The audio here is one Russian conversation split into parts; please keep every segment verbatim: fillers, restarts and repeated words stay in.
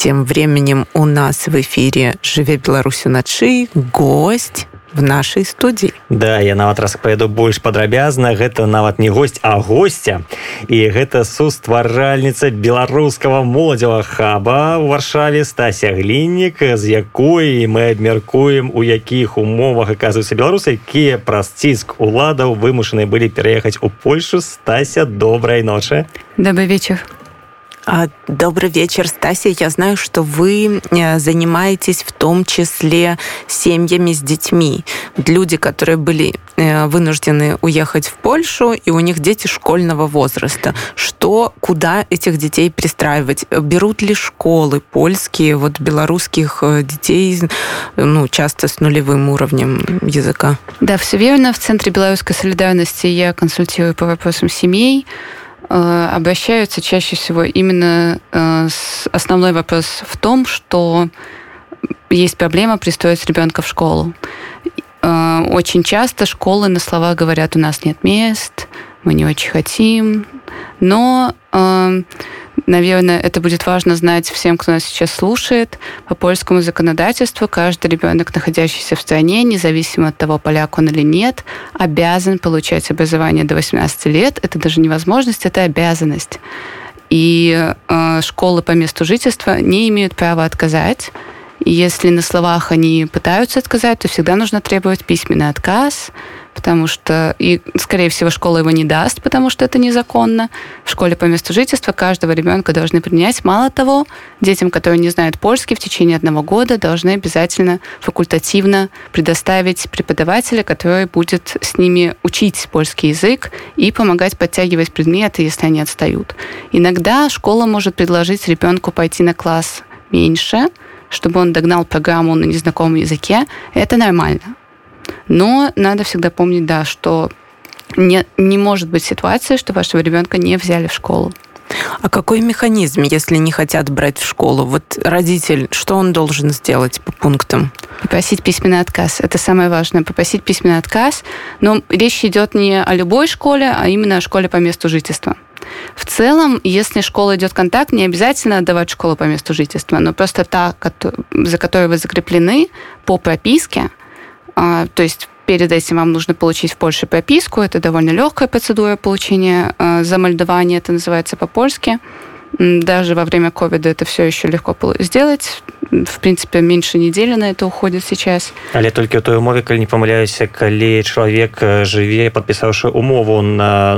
Тем временем у нас в эфире «Жыве Беларусь уначы» гость в нашай студыі. Да, я нават распавяду больш падрабязна. Гэта нават не госць, а госця. І гэта сустваральніца беларускага моладзевага хаба ў Варшаве Стася Гліннік, з якой мы абмяркуем, у якіх умовах аказваюцца беларусы, якія праз ціск уладаў вымушаныя былі пераехаць у Польшу. Стася, добрай ночы. Добрый вечер. Добрый вечер, Стася. Я знаю, что вы занимаетесь в том числе семьями с детьми. Люди, которые были вынуждены уехать в Польшу, и у них дети школьного возраста. Что, куда этих детей пристраивать? Берут ли школы польские, вот белорусских детей, ну, часто с нулевым уровнем языка? Да, все верно. В Центре белорусской солидарности я консультирую по вопросам семей. Обращаются чаще всего именно с основной вопрос в том, что есть проблема пристроить ребенка в школу. Очень часто школы на слова говорят: у нас нет мест, мы не очень хотим. Но, наверное, это будет важно знать всем, кто нас сейчас слушает. По польскому законодательству каждый ребенок, находящийся в стране, независимо от того, поляк он или нет, обязан получать образование до восемнадцати лет. Это даже не возможность, это обязанность. И школы по месту жительства не имеют права отказать. И если на словах они пытаются отказать, то всегда нужно требовать письменный отказ, потому что, и, скорее всего, школа его не даст, потому что это незаконно. В школе по месту жительства каждого ребенка должны принять. Мало того, детям, которые не знают польский, в течение одного года должны обязательно факультативно предоставить преподавателя, который будет с ними учить польский язык и помогать подтягивать предметы, если они отстают. Иногда школа может предложить ребенку пойти на класс меньше, чтобы он догнал программу на незнакомом языке. Это нормально. Но надо всегда помнить, да, что не, не может быть ситуации, что вашего ребенка не взяли в школу. А какой механизм, если не хотят брать в школу? Вот родитель, что он должен сделать по пунктам? Попросить письменный отказ. Это самое важное. Попросить письменный отказ. Но речь идет не о любой школе, а именно о школе по месту жительства. В целом, если школа идет контакт, не обязательно отдавать школу по месту жительства, но просто та, за которой вы закреплены по прописке, то есть перед этим вам нужно получить в Польше прописку, это довольно легкая процедура получения замальдования, это называется по-польски. Даже во время ковида это все еще легко сделать. В принципе, меньше недели на это уходит сейчас. Але толькі ў той умове, калі не памыляюся, калі чалавек жыве, падпісаўшы умову на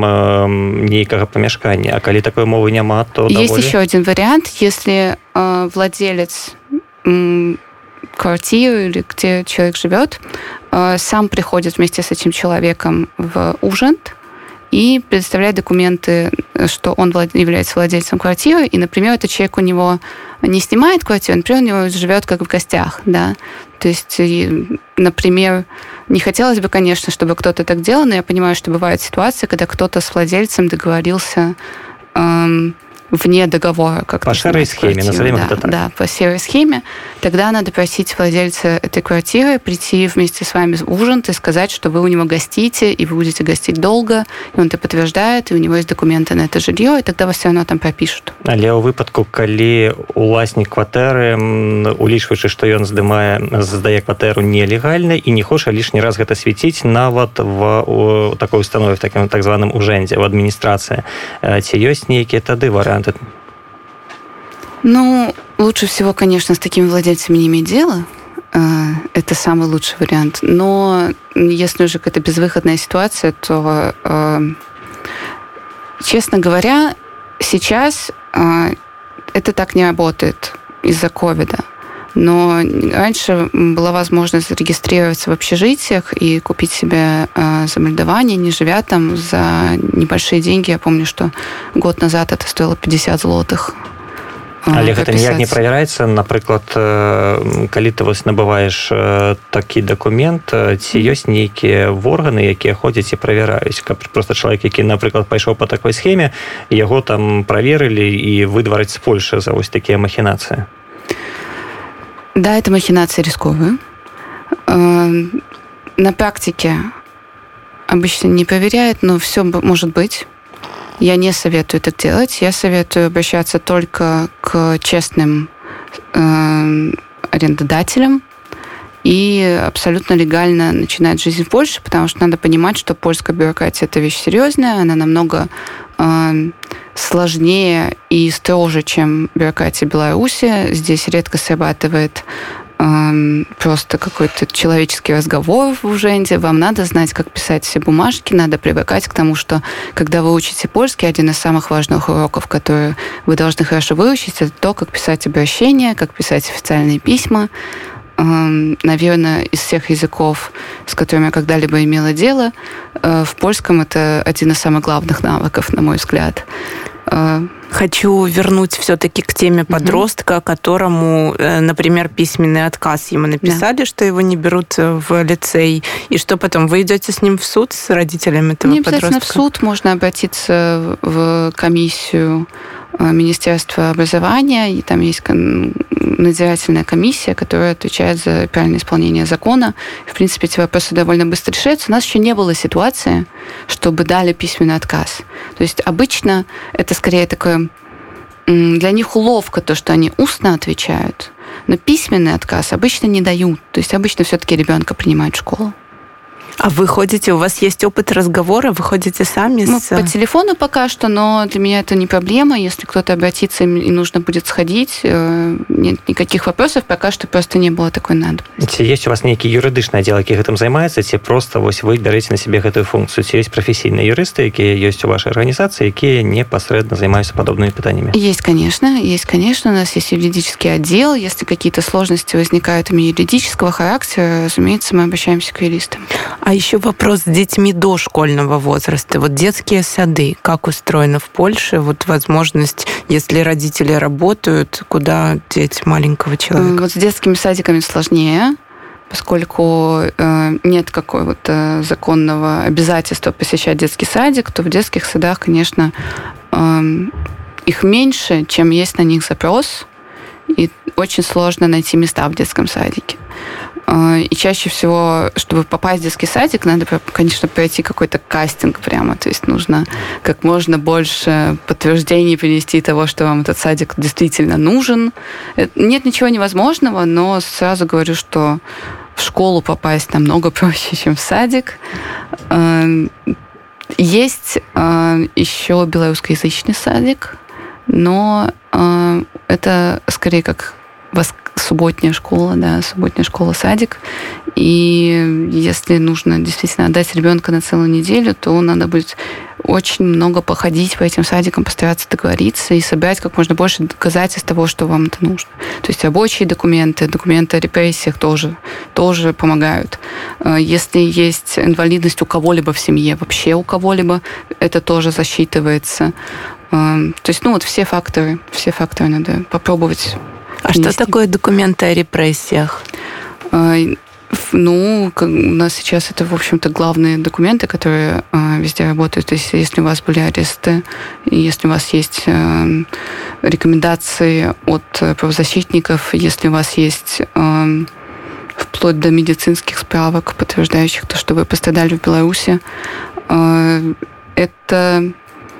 найм нейкага памяшкання, а калі такой умовы няма, то есть даволі... еще один вариант. Если э, владелец э, квартиры или где человек живет, э, сам приходит вместе с этим человеком в Ужент и предоставляет документы, что он является владельцем квартиры, и, например, этот человек у него не снимает квартиру, например, у него живет как в гостях, да. То есть, например, не хотелось бы, конечно, чтобы кто-то так делал, но я понимаю, что бывают ситуации, когда кто-то с владельцем договорился эм, вне договора. Как по серой схеме, назовем да, это так. Да, по серой схеме. Тогда надо просить владельца этой квартиры прийти вместе с вами в Ужент и сказать, что вы у него гостите, и вы будете гостить долго, и он это подтверждает, и у него есть документы на это жилье, и тогда вас все равно там пропишут. Але ў выпадку, калі уласнік кватэры, улічваючы, што ён здымае, здае кватэру нелегальна і не хоча лішні раз гэта свяціць нават в такой установе, в такім так званым ужэндзе, в адміністрацыі, ці ёсць нейкія тады варыянты? Ну, лучше всего, конечно, с такими владельцами не иметь дела. Это самый лучший вариант. Но если уже какая-то безвыходная ситуация, то, честно говоря, сейчас это так не работает из-за ковида. Но раньше была возможность зарегистрироваться в общежитиях и купить себе замальдование, не живя там, за небольшие деньги. Я помню, что год назад это стоило пятьдесят злотых. Але гэта ніяк не правяраецца, напрыклад, калі ты вось набываеш такі дакумент, ці ёсць нейкія органы, якія ходзяць і правяраюць, каб проста чалавек, які, напрыклад, пайшоў по такой схеме, яго там праверылі і выдварыць з Польшы за вось такія махінацыі? Да, это махинации рисковые. На практике обычно не проверяют, но все может быть. Я не советую так делать. Я советую обращаться только к честным э, арендодателям и абсолютно легально начинать жизнь в Польше, потому что надо понимать, что польская бюрократия – это вещь серьезная, она намного э, сложнее и строже, чем бюрократия Беларуси. Здесь редко срабатывает просто какой-то человеческий разговор в уженде. Вам надо знать, как писать все бумажки, надо привыкать к тому, что когда вы учите польский, один из самых важных уроков, которые вы должны хорошо выучить, это то, как писать обращения, как писать официальные письма. Наверное, из всех языков, с которыми я когда-либо имела дело, в польском это один из самых главных навыков, на мой взгляд. Хочу вернуть все-таки к теме подростка, mm-hmm. которому, например, письменный отказ ему написали, yeah. что его не берут в лицей, и что потом? Вы идете с ним в суд, с родителями этого не подростка? Не обязательно в суд, можно обратиться в комиссию Министерства образования, и там есть надзирательная комиссия, которая отвечает за правильное исполнение закона. В принципе, эти вопросы довольно быстро решаются. У нас еще не было ситуации, чтобы дали письменный отказ. То есть обычно это скорее такое для них уловка, то, что они устно отвечают, но письменный отказ обычно не дают. То есть обычно все-таки ребенка принимают в школу. А вы ходите, у вас есть опыт разговора, вы ходите сами? Мы с... по телефону пока что, но для меня это не проблема. Если кто-то обратится и нужно будет сходить, нет никаких вопросов, пока что просто не было такой надобности. Есть у вас некий юридичный отдел, который этим занимается, ці просто вот вы берете на себе эту функцию? Ці есть профессийные юристы, которые есть у вашей организации, которые непосредственно занимаются подобными питаниями? Есть, конечно, есть, конечно. У нас есть юридический отдел. Если какие-то сложности возникают именно юридического характера, разумеется, мы обращаемся к юристам. А еще вопрос с детьми дошкольного возраста. Вот детские сады, как устроено в Польше? Вот возможность, если родители работают, куда деть маленького человека? Вот с детскими садиками сложнее, поскольку э, нет какого-то законного обязательства посещать детский садик, то в детских садах, конечно, э, их меньше, чем есть на них запрос, и очень сложно найти места в детском садике. И чаще всего, чтобы попасть в детский садик, надо, конечно, пройти какой-то кастинг прямо. То есть нужно как можно больше подтверждений принести того, что вам этот садик действительно нужен. Нет ничего невозможного, но сразу говорю, что в школу попасть намного проще, чем в садик. Есть еще белорусскоязычный садик, но это скорее как субботняя школа, да, субботняя школа-садик. И если нужно действительно отдать ребенка на целую неделю, то надо будет очень много походить по этим садикам, постараться договориться и собрать как можно больше доказательств того, что вам это нужно. То есть рабочие документы, документы о репрессиях тоже, тоже помогают. Если есть инвалидность у кого-либо в семье, вообще у кого-либо, это тоже засчитывается. То есть, ну вот все факторы, все факторы надо попробовать. А что такое документы о репрессиях? Ну, у нас сейчас это, в общем-то, главные документы, которые везде работают. То есть, если у вас были аресты, если у вас есть рекомендации от правозащитников, если у вас есть вплоть до медицинских справок, подтверждающих то, что вы пострадали в Беларуси, это...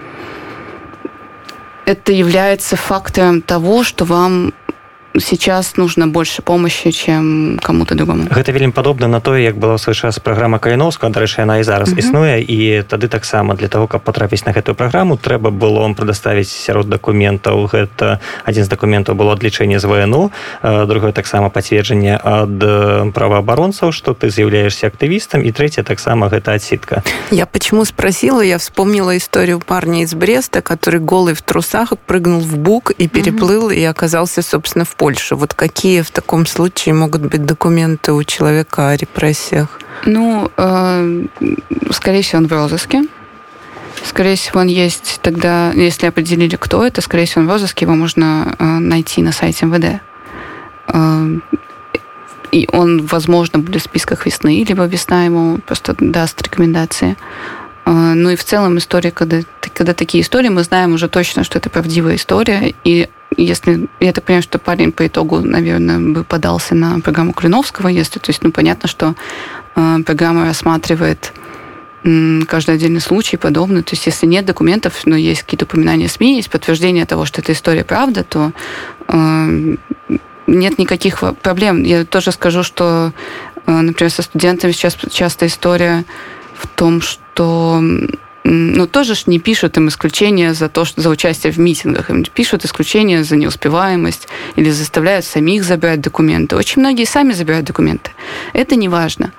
это является фактором того, что вам сейчас нужно больше помощи, чем кому-то другому. Гэта вельмі падобна на тое, як была ў свой час праграма Каліноўскага, дарэчы, яна і зараз uh-huh. існуе, і тады таксама для того, каб потрапіць на гэтую праграму, трэба было вам прадоставіць сярод дакументаў. Гэта адзін з дакументаў было адлічэнне з ВНУ, другое таксама пацверджанне ад праваабаронцаў, што ты з'яўляешься актывістам, і трэцяе таксама гэта адсідка. Я почему спросила, я вспомнила историю парня из Бреста, который голый в трусах прыгнул в бук и переплыл, uh-huh. и оказался, собственно, в Польше. Вот какие в таком случае могут быть документы у человека о репрессиях? Ну, э, скорее всего, он в розыске. Скорее всего, он есть тогда, если определили, кто это, скорее всего, он в розыске, его можно э, найти на сайте эм вэ дэ. Э, и он, возможно, будет в списках весны, либо весна ему просто даст рекомендации. Э, ну и в целом история, когда, когда такие истории, мы знаем уже точно, что это правдивая история, и если, я так понимаю, что парень по итогу, наверное, бы подался на программу Калиновского, если, то есть, ну, понятно, что э, программа рассматривает каждый отдельный случай подобный. То есть если нет документов, но есть какие-то упоминания СМИ, есть подтверждение того, что эта история правда, то э, нет никаких проблем. Я тоже скажу, что, э, например, со студентами сейчас часто история в том, что ну, тоже ж не пишут им исключения за то, что за участие в митингах. Им пишут исключения за неуспеваемость или заставляют самих забирать документы. Очень многие сами забирают документы. Это не важно.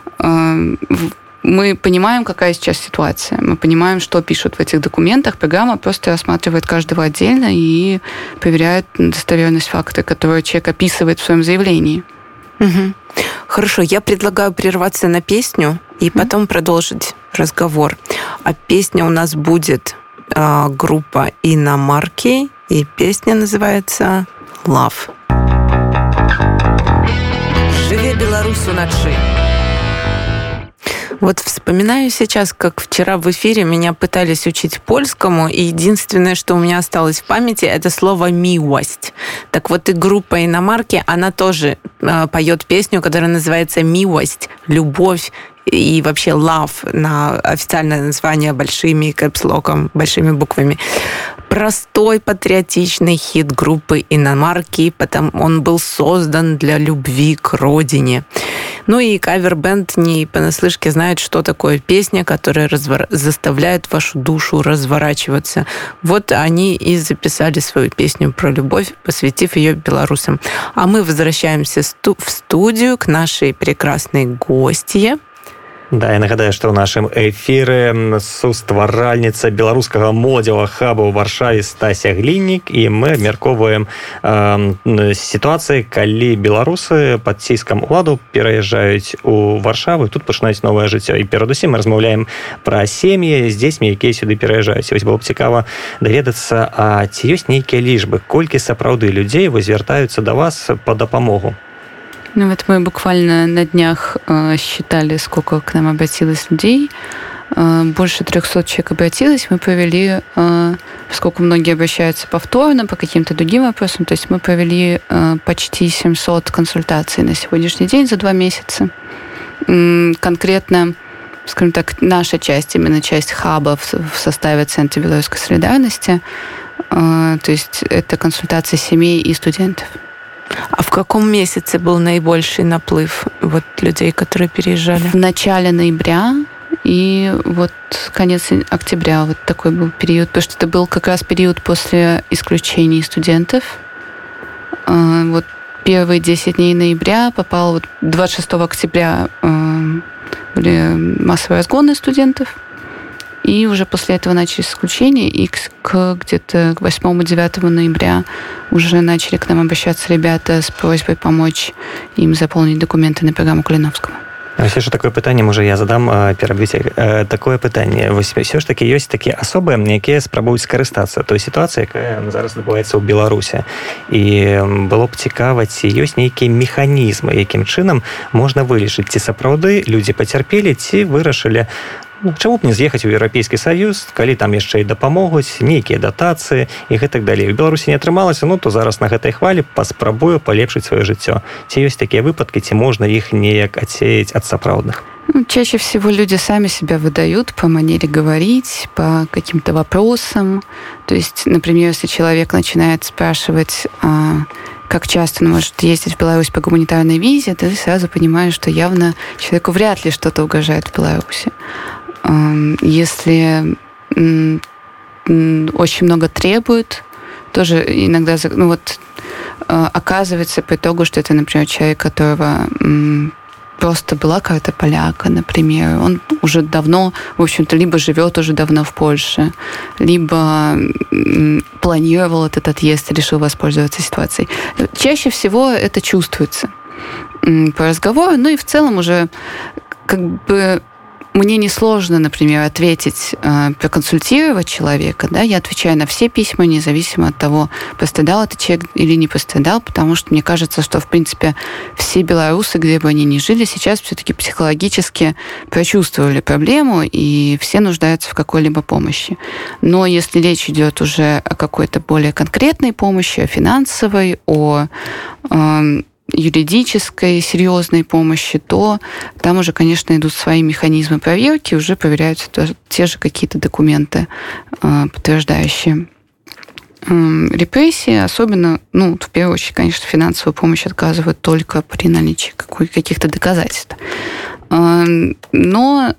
Мы понимаем, какая сейчас ситуация. Мы понимаем, что пишут в этих документах. Программа просто рассматривает каждого отдельно и проверяет достоверность факта, который человек описывает в своем заявлении. Угу. Хорошо, я предлагаю прерваться на песню и потом mm-hmm. продолжить разговор. А песня у нас будет э, группа Иномарки, и песня называется «Love». Живе Беларусь уночы. Вот вспоминаю сейчас, как вчера в эфире меня пытались учить польскому, и единственное, что у меня осталось в памяти, это слово «милость». Так вот и группа Иномарки, она тоже э, поет песню, которая называется «Милость», «Любовь», и вообще love на официальное название большими кэпслоком, большими буквами. Простой патриотичный хит группы Иномарки, потому он был создан для любви к родине. Ну и кавер-бенд не понаслышке знает, что такое песня, которая развор... заставляет вашу душу разворачиваться. Вот они и записали свою песню про любовь, посвятив ее белорусам. А мы возвращаемся в студию к нашей прекрасной гостье. Да, я нагадаю, што ў нашым эфіры сустваральніца беларускага моладзевага хаба ў Варшаве Стася Гліннік, і мы абмяркоўваем э, сітуацыі, калі беларусы пад ціскам уладу пераязджаюць у Варшаву і тут пачынаюць новае жыццё. І перадусім мы размаўляем пра сем'і з дзецьмі, якія сюды пераязджаюць. Вось было б цікава даведацца, а ці ёсць нейкія лічбы, колькі сапраўды людзей вось звяртаюцца да вас па дапамогу? Ну вот мы буквально на днях э, считали, сколько к нам обратилось людей. Э, больше трехсот человек обратилось. Мы провели, э, поскольку многие обращаются повторно по каким-то другим вопросам, то есть мы провели э, почти семьсот консультаций на сегодняшний день за два месяца. Э, конкретно, скажем так, наша часть, именно часть хаба в, в составе Центра белорусской солидарности, э, то есть это консультации семей и студентов. А в каком месяце был наибольший наплыв вот, людей, которые переезжали? В начале ноября и вот конец октября. Вот такой был период, потому что это был как раз период после исключений студентов. Вот первые десять дней ноября попало, вот двадцать шестого октября были массовые разгоны студентов. И уже после этого начались исключения, и к, к где-то к восьмому-девятому ноября уже начали к нам обращаться ребята с просьбой помочь им заполнить документы на программу Калиновского. Все ж такое пытанне, можа я задам перабіць такое пытанне. Вось все ж таки ёсць такія асобы, якія спрабуюць скарыстацца той сітуацыі, якая зараз адбываецца ў Беларусі. І было б цікава, ці ёсць нейкія механізмы, якім чынам можна вылічыць, ці сапраўды людзі пацярпелі, ці вырашылі, ну, чаму б не з'ехаць у Еўрапейскі Саюз, калі там яшчэ і дапамогуць, нейкія датацыі і гэтак далей. У Беларусі не атрымалася, ну то зараз на гэтай хвалі паспрабую палепшыць сваё жыццё. Ці ёсць такія выпадкі, ці можна іх неяк адсеяць ад сапраўдных? Ну, чаще всего люди сами себя выдают по манере говорить, по каким-то вопросам. То есть, например, если человек начинает спрашивать, а, как часто он может ездить в Беларусь по гуманитарной визе, ты сразу понимаешь, что явно человеку вряд ли что-то угрожает в Беларуси. Если очень много требуют, тоже иногда, ну вот, оказывается по итогу, что это, например, человек, которого просто была карта поляка, например, он уже давно, в общем-то, либо живет уже давно в Польше, либо планировал этот отъезд и решил воспользоваться ситуацией. Чаще всего это чувствуется по разговору, ну и в целом уже как бы мне несложно, например, ответить, проконсультировать человека, да, я отвечаю на все письма, независимо от того, пострадал этот человек или не пострадал, потому что мне кажется, что, в принципе, все белорусы, где бы они ни жили, сейчас все-таки психологически прочувствовали проблему, и все нуждаются в какой-либо помощи. Но если речь идет уже о какой-то более конкретной помощи, о финансовой, о юридической, серьезной помощи, то там уже, конечно, идут свои механизмы проверки, уже проверяются те же какие-то документы, подтверждающие репрессии. Особенно, ну, в первую очередь, конечно, финансовую помощь отказывают только при наличии каких-то доказательств. Но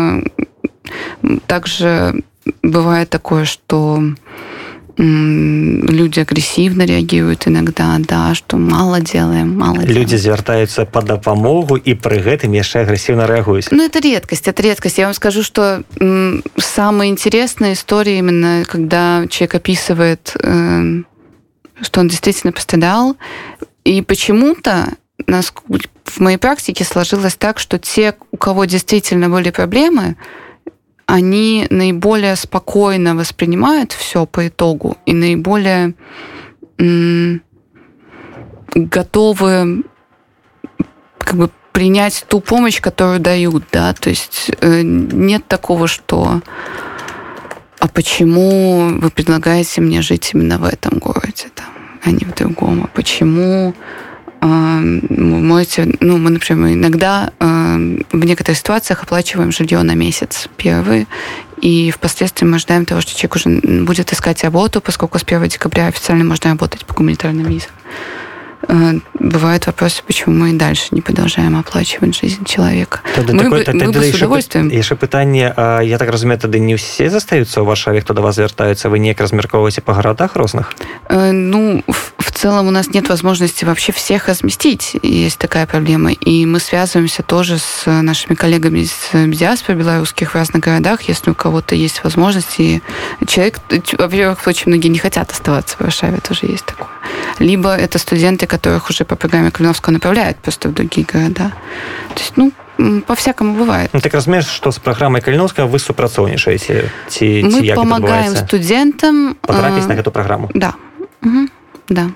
также бывает такое, что люди агрессивно реагируют иногда, да, что мало делаем, мало делаем. Люди звяртаюцца по допомогу и при этом еще агрессивно реагируют. Ну, это редкость, это редкость. Я вам скажу, что м, самая интересная история именно, когда человек описывает, э, что он действительно пострадал, и почему-то нас, в моей практике сложилось так, что те, у кого действительно были проблемы, они наиболее спокойно воспринимают все по итогу и наиболее м, готовы как бы принять ту помощь, которую дают, да, то есть э, нет такого, что а почему вы предлагаете мне жить именно в этом городе, там, а не в другом, а почему можете, ну, мы, например, иногда э, в некоторых ситуациях оплачиваем жилье на месяц первый, и впоследствии мы ожидаем того, что человек уже будет искать работу, поскольку с первого декабря официально можно работать по гуманитарным визам. Э, бывают вопросы, почему мы и дальше не продолжаем оплачивать жизнь человека. Тогда мы такое, бы, тогда мы бы с удовольствием. Яшчэ пытанне, я так разумею, тады не ўсе застаюцца ў Варшаве, хто да вас звяртаюцца, вы неяк размяркоўваеце па гарадах розных? Э, ну, в, в целом у нас нет возможности вообще всех разместить. Есть такая проблема. И мы связываемся тоже с нашими коллегами из диаспоры белорусских в разных городах, если у кого-то есть возможность. И человек, во-первых, очень многие не хотят оставаться в Варшаве, тоже есть такое. Либо это студенты, которых уже по программе Калиновского направляют просто в другие города. То есть, ну, по-всякому бывает. Ну, так разумеешь, что с программой Калиновского вы супрацоўнічаеце? Ці, мы ці помогаем студентам потрапить на эту программу? Да. Угу. Да.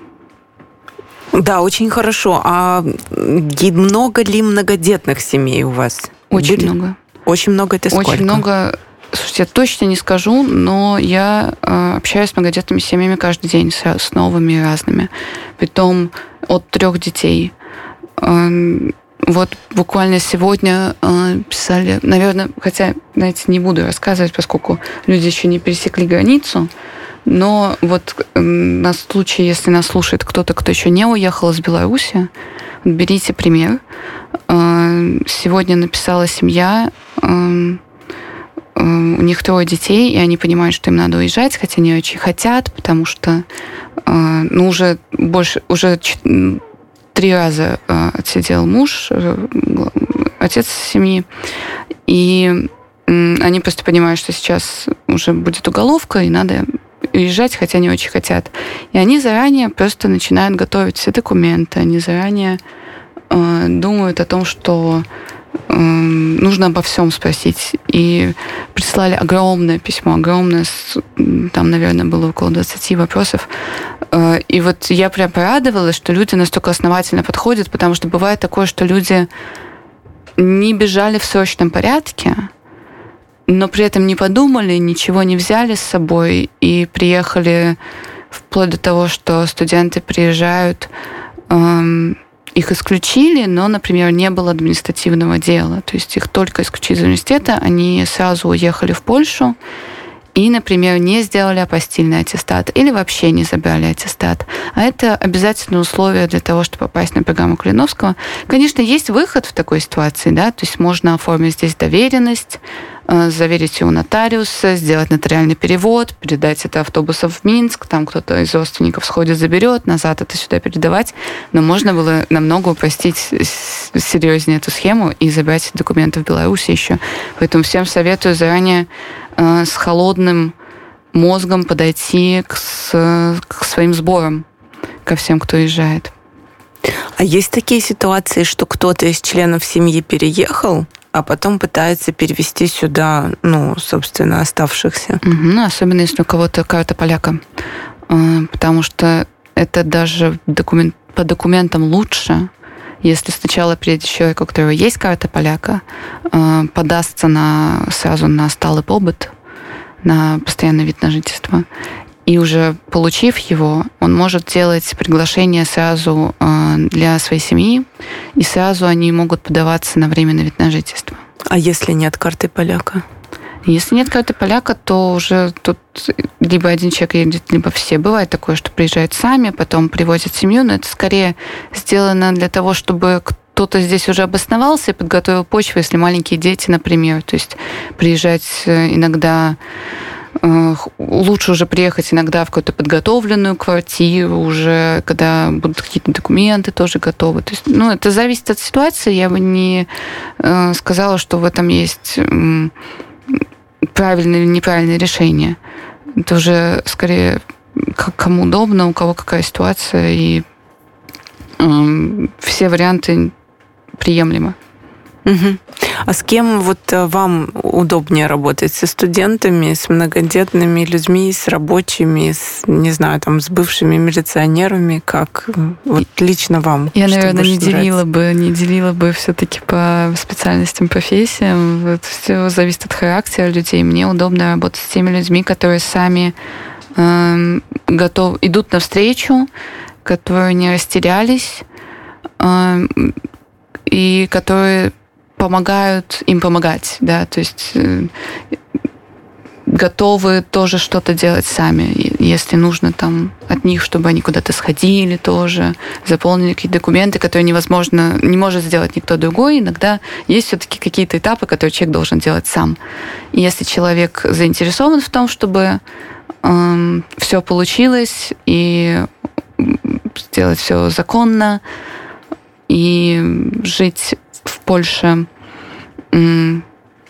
Да, очень хорошо. А много ли многодетных семей у вас? Очень Были? много. Очень много, это сколько? Очень много. Слушайте, я точно не скажу, но я э, общаюсь с многодетными семьями каждый день, с, с новыми и разными. Притом от трех детей. Э, вот буквально сегодня э, писали, наверное, хотя, знаете, не буду рассказывать, поскольку люди еще не пересекли границу, но вот э, на случай, если нас слушает кто-то, кто еще не уехал из Беларуси, берите пример. Э, сегодня написала семья... Э, у них трое детей, и они понимают, что им надо уезжать, хотя они очень хотят, потому что ну, уже больше, уже три раза отсидел муж, отец семьи, и они просто понимают, что сейчас уже будет уголовка, и надо уезжать, хотя они очень хотят. И они заранее просто начинают готовить все документы, они заранее думают о том, что нужно обо всем спросить. И прислали огромное письмо, огромное, там, наверное, было около двадцати вопросов. И вот я прям порадовалась, что люди настолько основательно подходят, потому что бывает такое, что люди не бежали в срочном порядке, но при этом не подумали, ничего не взяли с собой и приехали вплоть до того, что студенты приезжают... Их исключили, но, например, не было административного дела. То есть их только исключили из университета, они сразу уехали в Польшу и, например, не сделали апостильный аттестат или вообще не забрали аттестат. А это обязательное условие для того, чтобы попасть на программу Калиновского. Конечно, есть выход в такой ситуации, да, то есть можно оформить здесь доверенность, заверить ее у нотариуса, сделать нотариальный перевод, передать это автобусом в Минск, там кто-то из родственников сходит, заберет, назад это сюда передавать. Но можно было намного упростить серьезнее эту схему и забрать документы в Беларуси еще. Поэтому всем советую заранее э, с холодным мозгом подойти к, с, к своим сборам, ко всем, кто уезжает. А есть такие ситуации, что кто-то из членов семьи переехал, а потом пытается перевести сюда, ну, собственно, оставшихся. Угу, особенно если у кого-то карта поляка. Потому что это даже документ, по документам лучше, если сначала приедет человек, у которого есть карта поляка, подастся на, сразу на сталый побыт, на постоянный вид на жительство. И уже получив его, он может делать приглашение сразу для своей семьи, и сразу они могут подаваться на временный вид на жительство. А если нет карты поляка? Если нет карты поляка, то уже тут либо один человек едет, либо все. Бывает такое, что приезжают сами, потом привозят семью, но это скорее сделано для того, чтобы кто-то здесь уже обосновался и подготовил почву, если маленькие дети, например. То есть приезжать иногда... Лучше уже приехать иногда в какую-то подготовленную квартиру уже, когда будут какие-то документы тоже готовы. То есть, ну, это зависит от ситуации. Я бы не э, сказала, что в этом есть э, правильное или неправильное решение. Это уже скорее как кому удобно, у кого какая ситуация, и э, все варианты приемлемы. Угу. А с кем вот вам удобнее работать? Со студентами, с многодетными людьми, с рабочими, с, не знаю, там, с бывшими милиционерами? Как вот лично вам? Я, наверное, не делила бы, не делила бы все-таки по специальностям, профессиям. Это все зависит от характера людей. Мне удобно работать с теми людьми, которые сами э, готовы, идут навстречу, которые не растерялись, э, и которые помогают им помогать, да, то есть э, готовы тоже что-то делать сами, если нужно там от них, чтобы они куда-то сходили тоже, заполнили какие-то документы, которые невозможно, не может сделать никто другой. Иногда есть все-таки какие-то этапы, которые человек должен делать сам. И если человек заинтересован в том, чтобы э, все получилось и сделать все законно и жить в Польше м,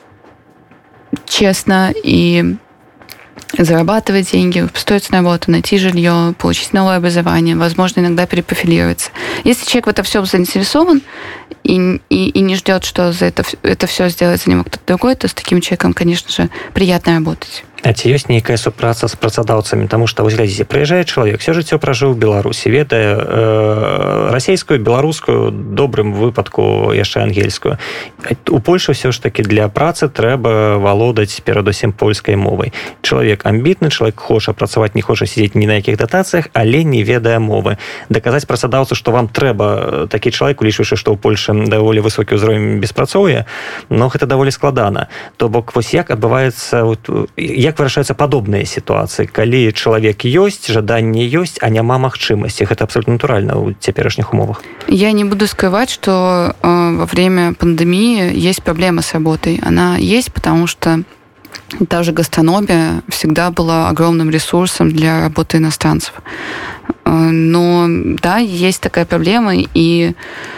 честно и зарабатывать деньги, устроиться на работу, найти жилье, получить новое образование, возможно, иногда перепрофилироваться. Если человек в это все заинтересован и, и, и не ждет, что за это, это все сделает за него кто-то другой, то с таким человеком, конечно же, приятно работать. А ці ёсць нейкая супраца з працадаўцамі, таму што вось глядзіце, прыязджае чалавек, все жыццё пражыў у Беларусі, ведае э, расейскую, беларускую, добрым выпадку яшчэ ангельскую. У Польшы ўсё ж такі для працы трэба валодаць перадусім польскай мовай. Чалавек амбітны, чалавек хоча працаваць, не хоча сидзець ні на якіх датацыях, але не ведае мовы. Даказаць працадаўцу, што вам трэба такі чалавек, улічваючы, што ў Польшы даволі высокі ўзровень беспрацоўя, но гэта даволі складана. То бок вось як адбываецца, як вырашаюцца падобныя сітуацыі, калі чалавек ёсць, жаданне ёсць, а няма магчымасці. Гэта абсолютно натуральна ў цяперашніх умовах. Я не буду скрывать, что э, во время пандемии есть проблема с работой. Она есть, потому что та же гастрономия всегда была огромным ресурсом для работы иностранцев. Э, но да, есть такая проблема, и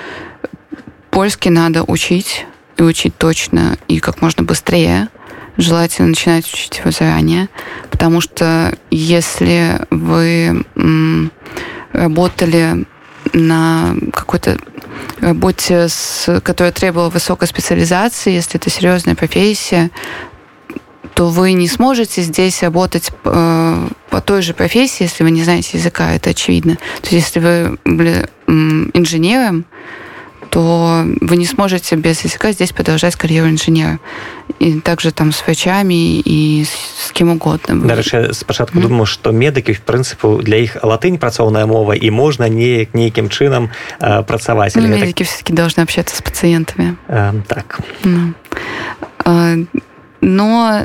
польский надо учить, и учить точно, и как можно быстрее. Желательно начинать учить его заранее, потому что если вы м, работали на какой-то работе, с, которая требовала высокой специализации, если это серьезная профессия, то вы не сможете здесь работать э, по той же профессии, если вы не знаете языка, это очевидно. То есть если вы были м, инженером, то вы не сможете без языка здесь продолжать карьеру инженера. И также там с врачами и с, с кем угодно. Дарэчы, спачатку mm. думаю, што медыкі, в прынцыпе, для іх латынь працоўная мова, і можна не, нейкім чынам э, працаваць. Ну, медики так... все-таки должны общаться с пациентами. Э, так. Ну. Э, но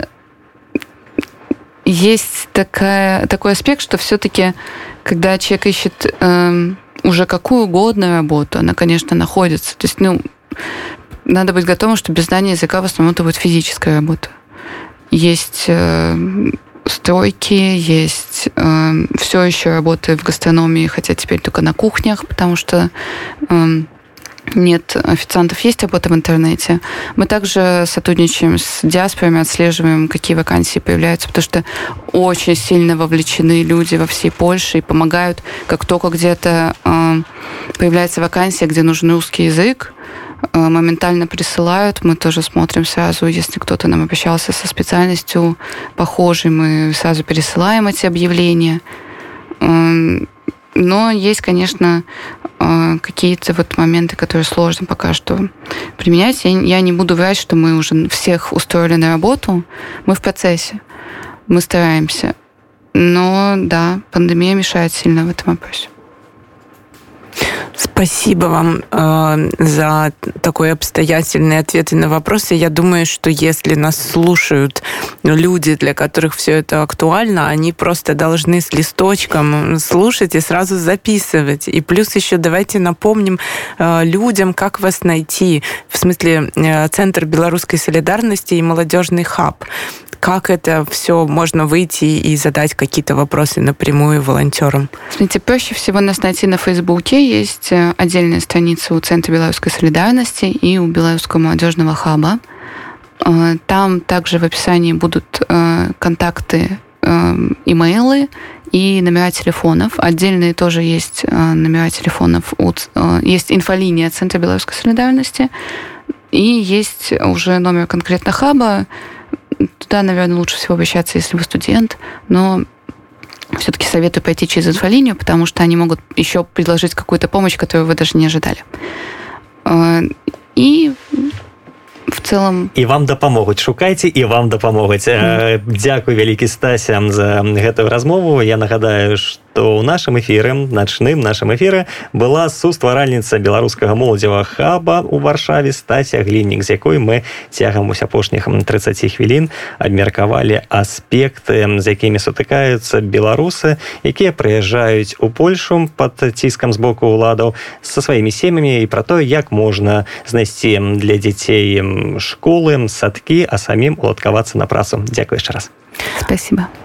есть такая, такой аспект, что все-таки, когда человек ищет... Э, уже какую угодно работу, она, конечно, находится. То есть, ну, надо быть готовым, что без знания языка в основном это будет физическая работа. Есть э, стройки, есть э, все еще работы в гастрономии, хотя теперь только на кухнях, потому что э, нет официантов, есть работа в интернете. Мы также сотрудничаем с диаспорами, отслеживаем, какие вакансии появляются, потому что очень сильно вовлечены люди во всей Польше и помогают, как только где-то э, появляется вакансия, где нужен русский язык, э, моментально присылают. Мы тоже смотрим сразу, если кто-то нам обращался со специальностью похожей, мы сразу пересылаем эти объявления. Э, но есть, конечно, какие-то вот моменты, которые сложно пока что применять. Я, я не буду врать, что мы уже всех устроили на работу. Мы в процессе. Мы стараемся. Но да, пандемия мешает сильно в этом вопросе. Спасибо вам э, за такой обстоятельный ответ на вопросы. Я думаю, что если нас слушают люди, для которых все это актуально, они просто должны с листочком слушать и сразу записывать. И плюс еще давайте напомним э, людям, как вас найти. В смысле, э, Центр белорусской солидарности и молодежный хаб. Как это все можно выйти и задать какие-то вопросы напрямую волонтерам? Смотрите, проще всего нас найти на Фейсбуке. Есть отдельная страница у Центра белорусской солидарности и у Белорусского молодежного хаба. Там также в описании будут контакты, имейлы и номера телефонов. Отдельные тоже есть номера телефонов. Есть инфолиния Центра белорусской солидарности и есть уже номер конкретно хаба. Туда, наверное, лучше всего обращаться, если вы студент, но все-таки советую пойти через инфолинию, потому что они могут еще предложить какую-то помощь, которую вы даже не ожидали. И в целом... І вам дапамогуць, шукайце, і вам дапамогуць. Mm. Дзякуй вялікі, Стася, за гэтую размову. Я нагадаю, што ў нашым эфіры, начным нашым эфіры, была сустваральніца беларускага моладзевага хаба ў Варшаве Стася Гліннік, з якой мы цягам ось апошніх трыццаць хвілін абмеркавалі аспекты, з якімі сутыкаюцца беларусы, якія прыязджаюць у Польшу пад ціскам з боку ўладаў са сваімі сем'ямі, і пра тое, як можна знайсці для дзяцей школы, садкі, а самім уладкавацца на працу. Дзякуй яшчэ раз. Спасибо.